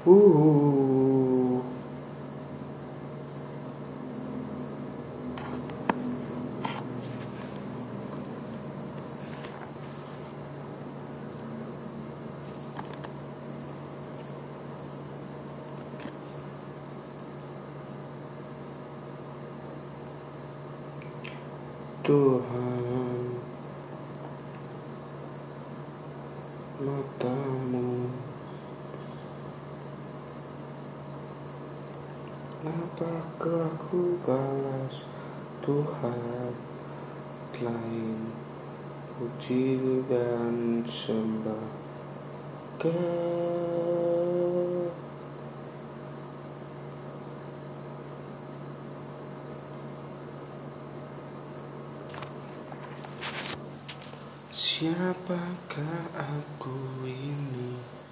Uh. Tuhan, matamu, apakah ku balas Tuhan lain puji dan sembah siapakah aku ini?